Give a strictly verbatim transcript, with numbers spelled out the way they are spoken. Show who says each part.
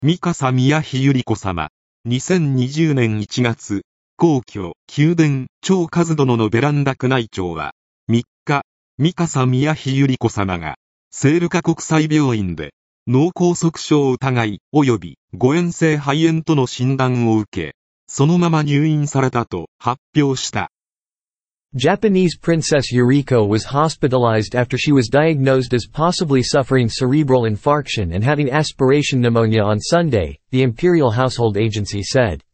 Speaker 1: 三笠宮妃百合子様、にせんにじゅうねんいちがつ、皇居、宮殿、長和殿のベランダ宮内庁は、みっか、三笠宮妃百合子様が、聖路加国際病院で、脳梗塞症疑い及び誤嚥性肺炎との診断を受け、そのまま入院されたと発表した。
Speaker 2: Japanese Princess Yuriko was hospitalized after she was diagnosed as possibly suffering cerebral infarction and having aspiration pneumonia on Sunday, the Imperial Household Agency said.